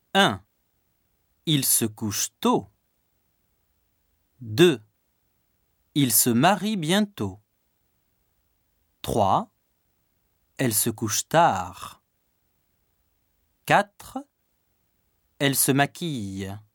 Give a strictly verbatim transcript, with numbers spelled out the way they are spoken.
un. Il se couche tôt. deux. Il se marie bientôt. trois. Elle se couche tard. quatre. Elle se maquille.